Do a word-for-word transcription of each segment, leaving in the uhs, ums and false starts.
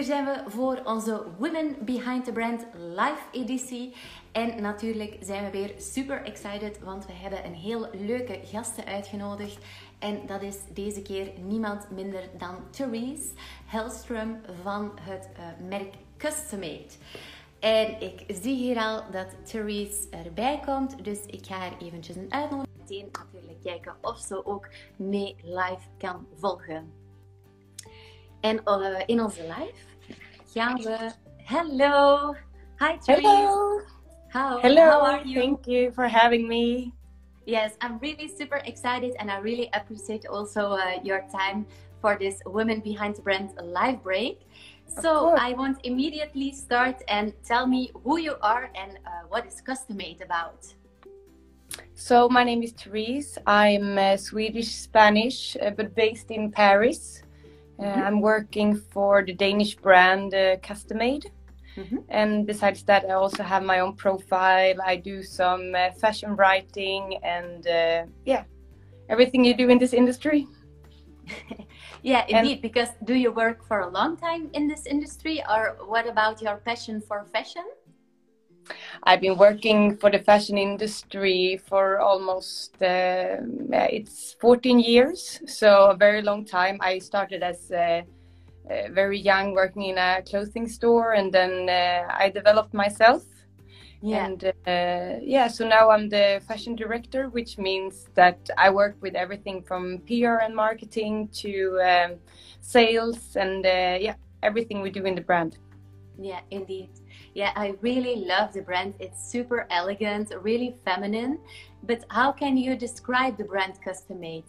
Hier zijn we voor onze Women Behind the Brand live editie. En natuurlijk zijn we weer super excited, want we hebben een heel leuke gasten uitgenodigd. En dat is deze keer niemand minder dan Therese Hellstrom van het uh, merk Custom-Made. En ik zie hier al dat Therese erbij komt, dus ik ga haar eventjes een uitnodiging. Meteen natuurlijk kijken of ze ook mee live kan volgen. En uh, in onze live gaan we... Hello! Hi Therese! Hello! How, Hello! how are you? Thank you for having me. Yes, I'm really super excited and I really appreciate also uh, your time for this Women Behind the Brand live break. So I want immediately start and tell me who you are and uh, what is Custom-Made about. So my name is Therese. I'm uh, Swedish Spanish uh, but based in Paris. Uh, mm-hmm. I'm working for the Danish brand uh, Custom-Made. Mm-hmm. And besides that, I also have my own profile. I do some uh, fashion writing and uh, yeah, everything you do in this industry. Yeah, indeed. And because do you work for a long time in this industry, or what about your passion for fashion? I've been working for the fashion industry for almost uh, it's fourteen years, so a very long time. I started as uh, uh, very young, working in a clothing store, and then uh, I developed myself. Yeah. And uh, yeah, so now I'm the fashion director, which means that I work with everything from P R and marketing to um, sales and uh, yeah, everything we do in the brand. Yeah, indeed. Yeah, I really love the brand. It's super elegant, really feminine. But how can you describe the brand Custom-Made?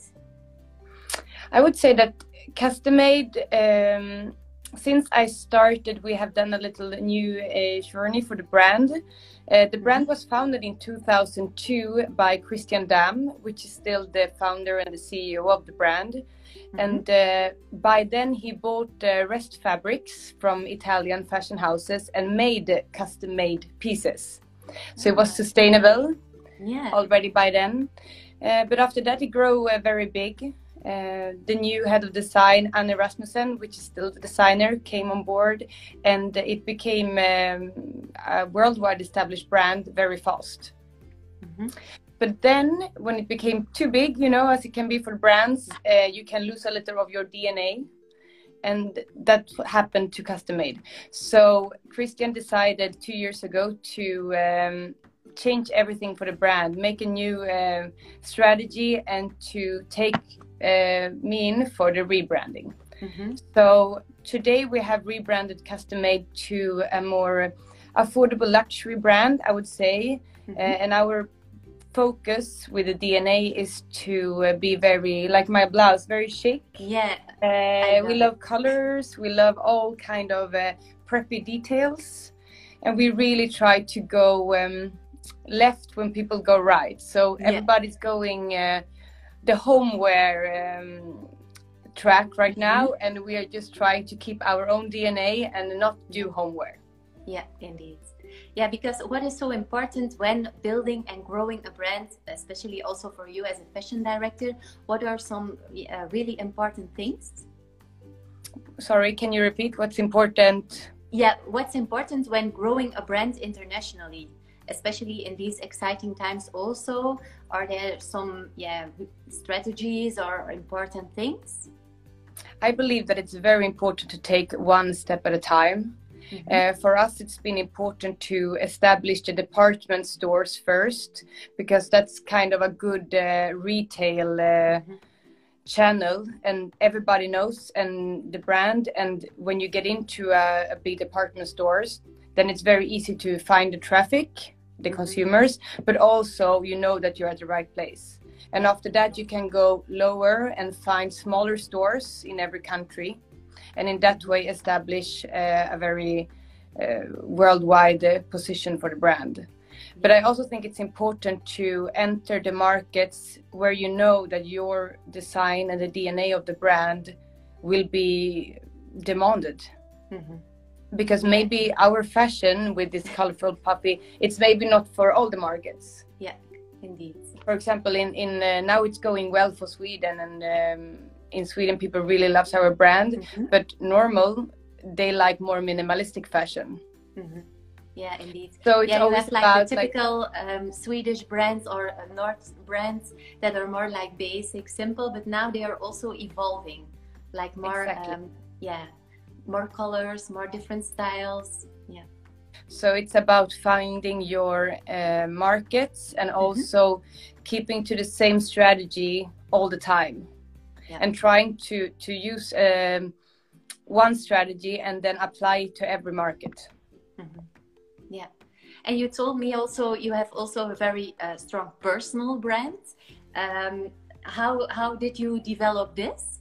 I would say that Custom-Made, um, since I started, we have done a little new uh, journey for the brand. Uh, the brand was founded in two thousand two by Christian Damm, which is still the founder and the C E O of the brand. Mm-hmm. And uh, by then he bought uh, Rest Fabrics from Italian fashion houses and made custom-made pieces. So it was sustainable yeah. already by then. Uh, but after that it grew uh, very big. Uh, the new head of design, Anne Rasmussen, which is still the designer, came on board, and it became um, a worldwide established brand very fast. Mm-hmm. But then, when it became too big, you know, as it can be for brands, uh, you can lose a little of your D N A, and that happened to Custom-Made. So Christian decided two years ago to um, change everything for the brand, make a new uh, strategy, and to take uh, me in for the rebranding. Mm-hmm. So today we have rebranded Custom-Made to a more affordable luxury brand, I would say. Mm-hmm. uh, and our focus with the D N A is to uh, be very, like my blouse, very chic. Yeah. Uh, we love colors, we love all kind of uh, preppy details. And we really try to go um, left when people go right. So yeah. Everybody's going uh, the homeware um, track right now, mm-hmm. and we are just trying to keep our own D N A and not do homeware. Yeah, indeed. Yeah, because what is so important when building and growing a brand, especially also for you as a fashion director, what are some uh, really important things? Sorry, can you repeat what's important? Yeah, what's important when growing a brand internationally? Especially in these exciting times also, are there some yeah, strategies or important things? I believe that it's very important to take one step at a time. Mm-hmm. Uh, for us, it's been important to establish the department stores first, because that's kind of a good uh, retail uh, mm-hmm. channel, and everybody knows and the brand. And when you get into a, a big department stores, then it's very easy to find the traffic, the mm-hmm. consumers, but also you know that you're at the right place. And after that, you can go lower and find smaller stores in every country, and in that way establish uh, a very uh, worldwide uh, position for the brand. But I also think it's important to enter the markets where you know that your design and the D N A of the brand will be demanded. Mm-hmm. Because maybe our fashion with this colorful puppy, it's maybe not for all the markets. Yeah, indeed. For example, in, in uh, now it's going well for Sweden, and um, in Sweden people really loves our brand. Mm-hmm. But normal, they like more minimalistic fashion. Mm-hmm. Yeah, indeed. So it's yeah, you always have like about the typical like, um, Swedish brands or uh, North brands that are more like basic, simple, but now they are also evolving, like more, exactly. um, yeah, more colors, more different styles. Yeah. So it's about finding your uh, markets and also mm-hmm. keeping to the same strategy all the time, yeah. and trying to to use um, one strategy and then apply it to every market. Mm-hmm. Yeah, and you told me also you have also a very uh, strong personal brand. Um, how how did you develop this?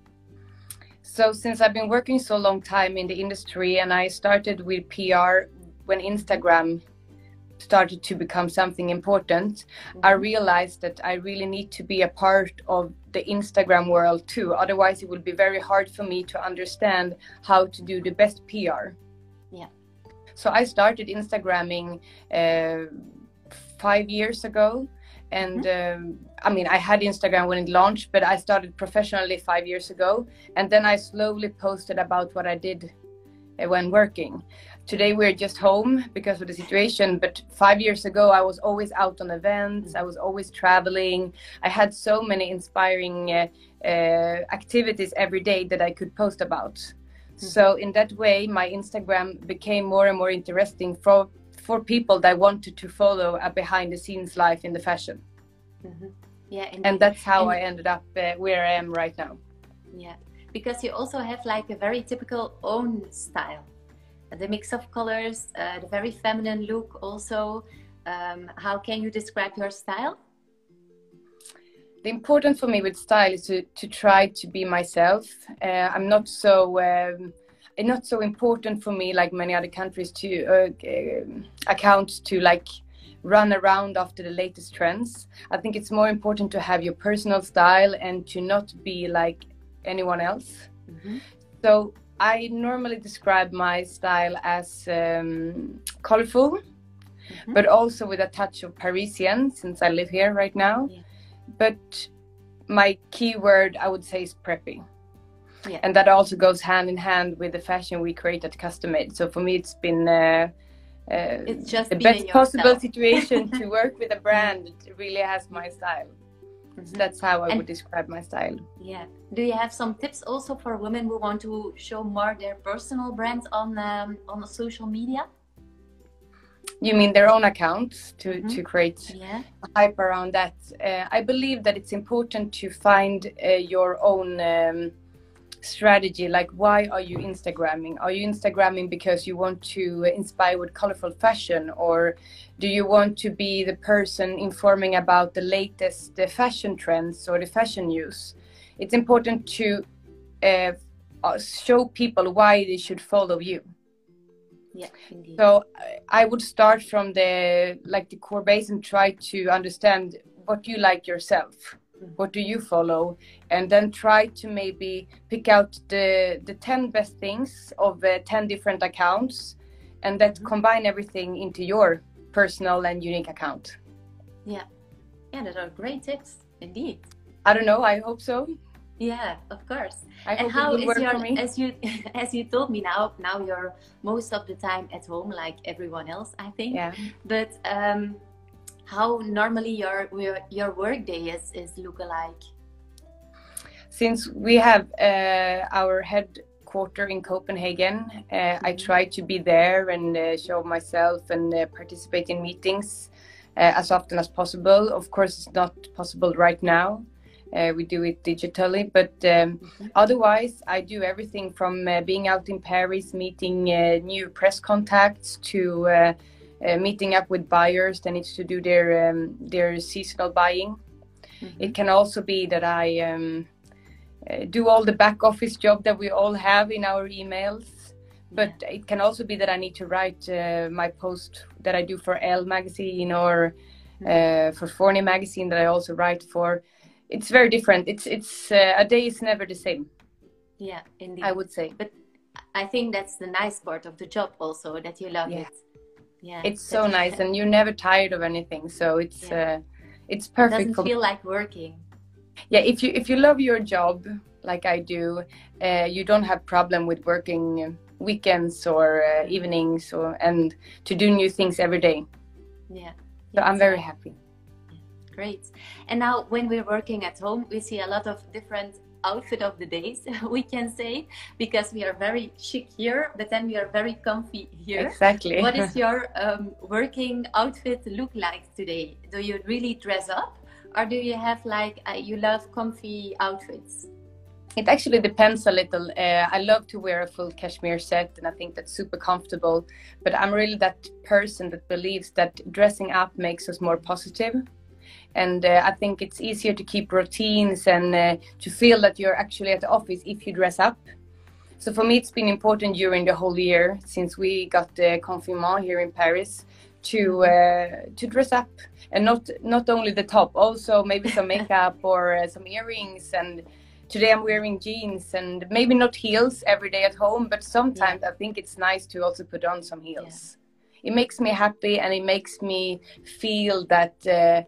So since I've been working so long time in the industry, and I started with P R when Instagram started to become something important, mm-hmm. I realized that I really need to be a part of the Instagram world too. Otherwise, it would be very hard for me to understand how to do the best P R. Yeah. So I started Instagramming uh, five years ago. And mm-hmm. um, I mean, I had Instagram when it launched, but I started professionally five years ago. And then I slowly posted about what I did uh, when working. Today we're just home because of the situation, but five years ago I was always out on events, I was always traveling. I had so many inspiring uh, uh, activities every day that I could post about. Mm-hmm. So in that way, my Instagram became more and more interesting for, for people that wanted to follow a behind the scenes life in the fashion. Mm-hmm. Yeah, indeed. And that's how and I ended up uh, where I am right now. Yeah, because you also have like a very typical own style. The mix of colors, uh, the very feminine look also. Um, how can you describe your style? The important for me with style is to, to try to be myself. Uh, I'm not so, um, it's not so important for me like many other countries to uh, uh, account to like run around after the latest trends. I think it's more important to have your personal style and to not be like anyone else. Mm-hmm. So I normally describe my style as um, colorful, mm-hmm. but also with a touch of Parisian, since I live here right now. Yeah. But my key word, I would say, is preppy. Yeah. And that also goes hand in hand with the fashion we create at Custom Made. So for me, it's been uh, uh, it's just the best possible situation to work with a brand that really has my style. Mm-hmm. That's how I and, would describe my style. Yeah. Do you have some tips also for women who want to show more their personal brand on um, on social media? You mean their own accounts to, mm-hmm. to create yeah. hype around that? Uh, I believe that it's important to find uh, your own um, strategy. Like, why are you Instagramming? Are you Instagramming because you want to inspire with colorful fashion, or do you want to be the person informing about the latest the fashion trends or the fashion news? It's important to uh, show people why they should follow you. Yeah, indeed. So I would start from the like the core base and try to understand what you like yourself. Mm-hmm. What do you follow? And then try to maybe pick out the the ten best things of uh, ten different accounts, and that mm-hmm. combine everything into your personal and unique account. Yeah, yeah, those are great tips, indeed. I don't know. I hope so. Yeah, of course. I and hope how it would is work your for me. as you as you told me now now you're most of the time at home like everyone else, I think. Yeah. But um, how normally your your your work day is is look alike? Since we have uh, our headquarter in Copenhagen, uh, mm-hmm. I try to be there and uh, show myself and uh, participate in meetings uh, as often as possible. Of course, it's not possible right now. Uh, we do it digitally, but um, mm-hmm. otherwise I do everything from uh, being out in Paris, meeting uh, new press contacts, to uh, uh, meeting up with buyers that need to do their um, their seasonal buying. Mm-hmm. It can also be that I um, uh, do all the back office job that we all have in our emails, but yeah. it can also be that I need to write uh, my post that I do for Elle magazine or mm-hmm. uh, for Forni magazine that I also write for. It's very different. It's it's uh, a day is never the same. Yeah, indeed. I would say. But I think that's the nice part of the job also, that you love yeah. it. Yeah. It's so nice, and you're never tired of anything. So it's yeah. uh, it's perfect. It doesn't for feel like working. Yeah, if you if you love your job like I do, uh, you don't have problem with working weekends or uh, evenings, or and to do new things every day. Yeah. So I'm very happy. Great. And now when we're working at home, we see a lot of different outfit of the days, we can say, because we are very chic here, but then we are very comfy here. Exactly. What is your um, working outfit look like today? Do you really dress up, or do you have like, uh, you love comfy outfits? It actually depends a little. Uh, I love to wear a full cashmere set, and I think that's super comfortable. But I'm really that person that believes that dressing up makes us more positive. And uh, I think it's easier to keep routines and uh, to feel that you're actually at the office if you dress up. So for me, it's been important during the whole year, since we got the confinement here in Paris, to uh, to dress up, and not not only the top, also maybe some makeup or uh, some earrings. And today I'm wearing jeans and maybe not heels every day at home, but sometimes yeah. I think it's nice to also put on some heels. Yeah. It makes me happy, and it makes me feel that uh,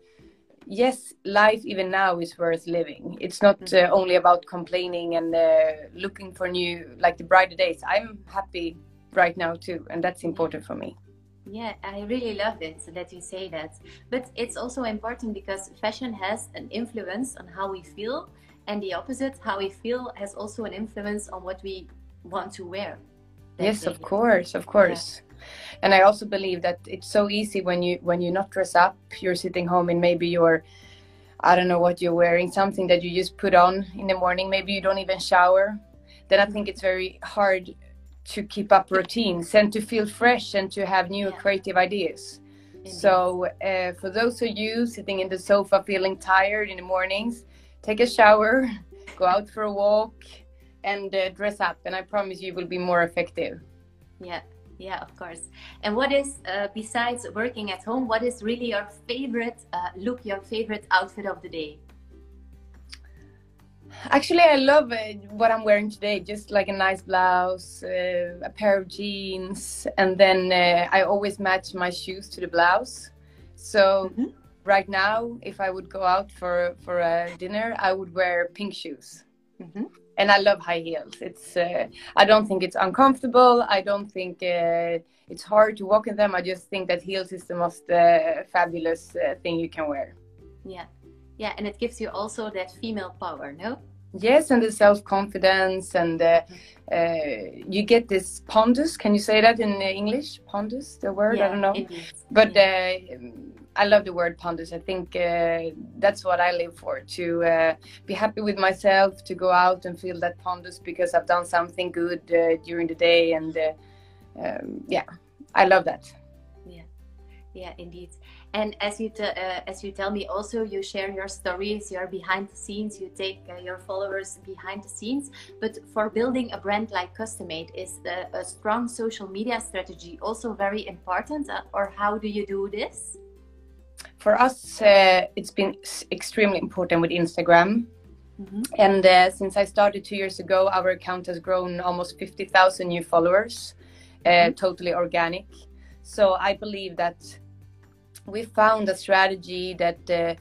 yes, life even now is worth living. It's not uh, only about complaining and uh, looking for new, like the brighter days. I'm happy right now too, and that's important for me. Yeah, I really love it that you say that. But it's also important because fashion has an influence on how we feel, and the opposite, how we feel, has also an influence on what we want to wear. Yes, of course, of course. Yeah. And I also believe that it's so easy when you when you not dress up, you're sitting home and maybe you're, I don't know what you're wearing, something that you just put on in the morning, maybe you don't even shower. Then I think it's very hard to keep up routines and to feel fresh and to have new yeah. creative ideas. Indeed. So uh, for those of you sitting in the sofa feeling tired in the mornings, take a shower, go out for a walk, and uh, dress up, and I promise you will be more effective. Yeah. Yeah, of course. And what is, uh, besides working at home, what is really your favorite uh, look, your favorite outfit of the day? Actually, I love uh, what I'm wearing today. Just like a nice blouse, uh, a pair of jeans, and then uh, I always match my shoes to the blouse. So mm-hmm. right now, if I would go out for, for a dinner, I would wear pink shoes. Mm-hmm. And I love high heels. It's uh, I don't think it's uncomfortable. I don't think uh, it's hard to walk in them. I just think that heels is the most uh, fabulous uh, thing you can wear. Yeah, yeah, and it gives you also that female power, no? Yes, and the self-confidence, and uh, uh, you get this pondus. Can you say that in English? Pondus, the word? Yeah, I don't know. Indeed. But yeah. uh, I love the word pondus. I think uh, that's what I live for, to uh, be happy with myself, to go out and feel that pondus because I've done something good uh, during the day. And uh, um, yeah, I love that. Yeah, yeah, indeed. And as you t uh, as you tell me, also you share your stories, you're behind the scenes, you take uh, your followers behind the scenes. But for building a brand like Custom-Made, is the, a strong social media strategy also very important, uh, or how do you do this? For us, uh, it's been extremely important with Instagram. Mm-hmm. And uh, since I started two years ago, our account has grown almost fifty thousand new followers, uh, mm-hmm. totally organic. So I believe that we found a strategy that uh,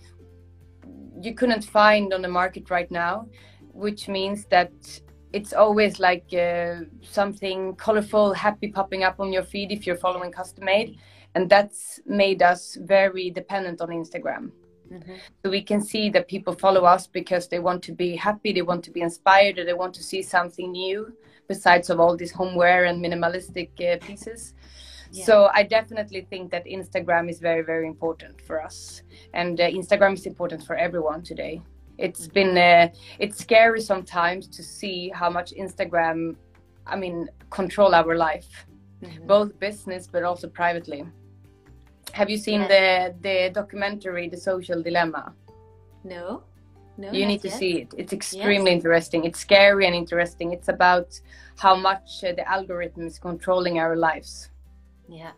you couldn't find on the market right now, which means that it's always like uh, something colorful, happy popping up on your feed if you're following Custom-Made. And that's made us very dependent on Instagram. Mm-hmm. So we can see that people follow us because they want to be happy, they want to be inspired, or they want to see something new besides of all these homeware and minimalistic uh, pieces. Yeah. So I definitely think that Instagram is very, very important for us. And uh, Instagram is important for everyone today. It's mm-hmm. been, uh, it's scary sometimes to see how much Instagram, I mean, control our life. Mm-hmm. Both business, but also privately. Have you seen yeah. the the documentary, The Social Dilemma? No. No, you need to yet. see it. It's extremely yes. interesting. It's scary and interesting. It's about how much uh, the algorithm is controlling our lives. Yeah.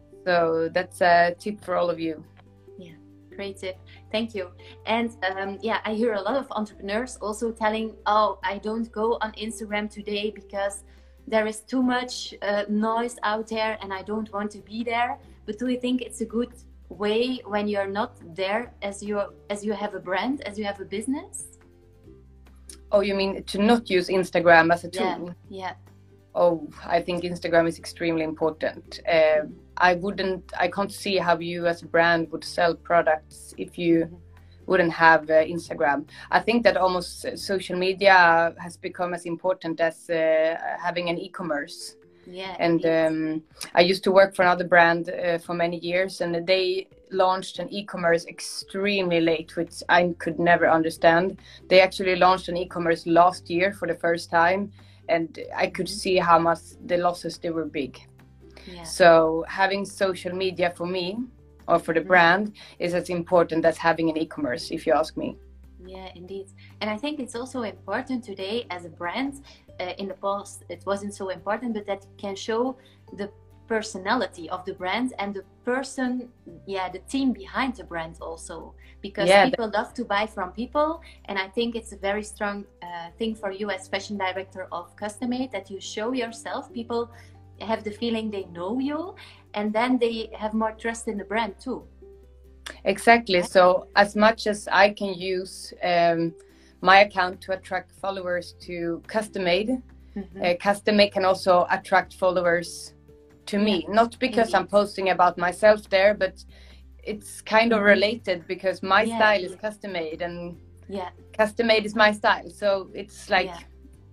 So that's a tip for all of you. Yeah, great tip. Thank you. And um, yeah, I hear a lot of entrepreneurs also telling, oh, I don't go on Instagram today because there is too much uh, noise out there and I don't want to be there. But do you think it's a good way when you're not there as you as you have a brand, as you have a business? Oh, you mean to not use Instagram as a tool? Yeah. yeah. Oh, I think Instagram is extremely important. Uh, I wouldn't, I can't see how you as a brand would sell products if you wouldn't have uh, Instagram. I think that almost uh, social media has become as important as uh, having an e-commerce. Yeah. And um, I used to work for another brand uh, for many years, and they launched an e-commerce extremely late, which I could never understand. They actually launched an e-commerce last year for the first time, and I could see how much the losses, they were big. Yeah. So having social media for me, or for the brand, is as important as having an e-commerce, if you ask me. Yeah, indeed. And I think it's also important today as a brand. Uh, in the past, it wasn't so important, but that can show the personality of the brand and the person, yeah, the team behind the brand also. Because yeah, people love to buy from people. And I think it's a very strong uh, thing for you as fashion director of Custom-Made, that you show yourself. People have the feeling they know you, and then they have more trust in the brand too. Exactly. So as much as I can use um, my account to attract followers to Custom-Made, mm-hmm. uh, Custom-Made can also attract followers to me. Yeah. Not because Indeed. I'm posting about myself there, but it's kind of mm-hmm. related, because my yeah. style is Custom-Made, and yeah. Custom-Made is my style. So it's like yeah.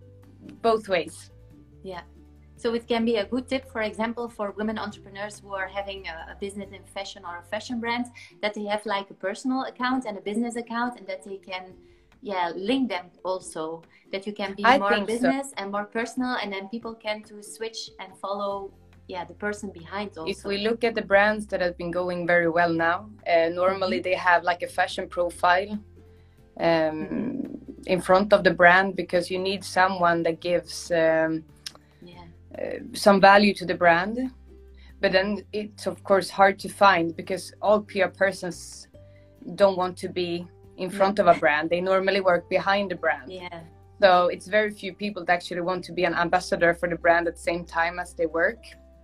both ways. Yeah. So it can be a good tip, for example, for women entrepreneurs who are having a, a business in fashion or a fashion brand, that they have like a personal account and a business account, and that they can, yeah, link them also. That you can be I more business so. and more personal, and then people can to switch and follow, yeah, the person behind also. If we look at the brands that have been going very well now, uh, normally mm-hmm. they have like a fashion profile um, mm-hmm. in front of the brand, because you need someone that gives um, Uh, some value to the brand. But then it's of course hard to find, because all P R persons don't want to be in front of a brand. They normally work behind the brand. Yeah. So it's very few people that actually want to be an ambassador for the brand at the same time as they work.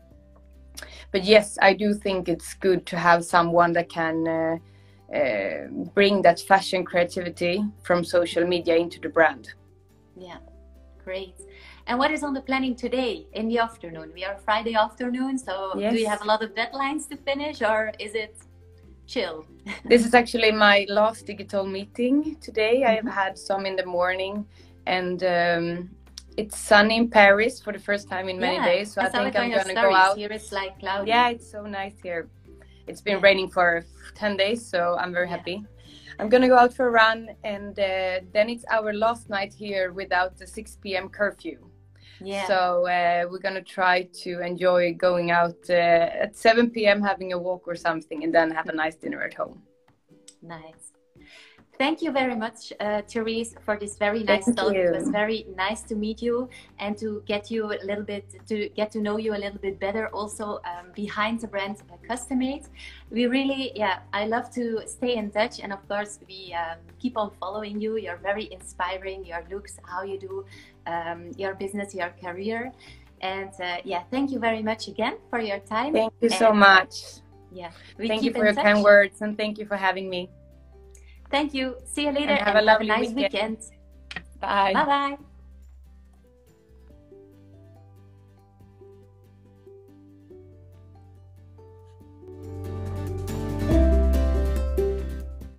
But yes, I do think it's good to have someone that can uh, uh, bring that fashion creativity from social media into the brand. Yeah, great. And what is on the planning today in the afternoon? We are Friday afternoon, so yes. do you have a lot of deadlines to finish, or is it chill? This is actually my last digital meeting today. Mm-hmm. I have had some in the morning, and um, it's sunny in Paris for the first time in many yeah, days. So I, I think I'm going to go out. Here it's like cloudy. Yeah, it's so nice here. It's been yeah. raining for ten days, so I'm very yeah. happy. I'm going to go out for a run, and uh, then it's our last night here without the six p m curfew. Yeah. So uh, we're going to try to enjoy going out uh, at seven p m having a walk or something, and then have a nice dinner at home. Nice. Thank you very much, uh, Therese, for this very nice Thank talk. You. It was very nice to meet you and to get you a little bit, to get to know you a little bit better also um, behind the brand uh, Custom-Made. We really, yeah, I love to stay in touch, and of course we um, keep on following you. You're very inspiring, your looks, how you do um, your business, your career. And uh, yeah, thank you very much again for your time. Thank you and, so much. Yeah, we thank keep you for your touch. kind words, and thank you for having me. Thank you. See you later, and have, and a, lovely have a nice weekend. weekend. Bye. Bye-bye.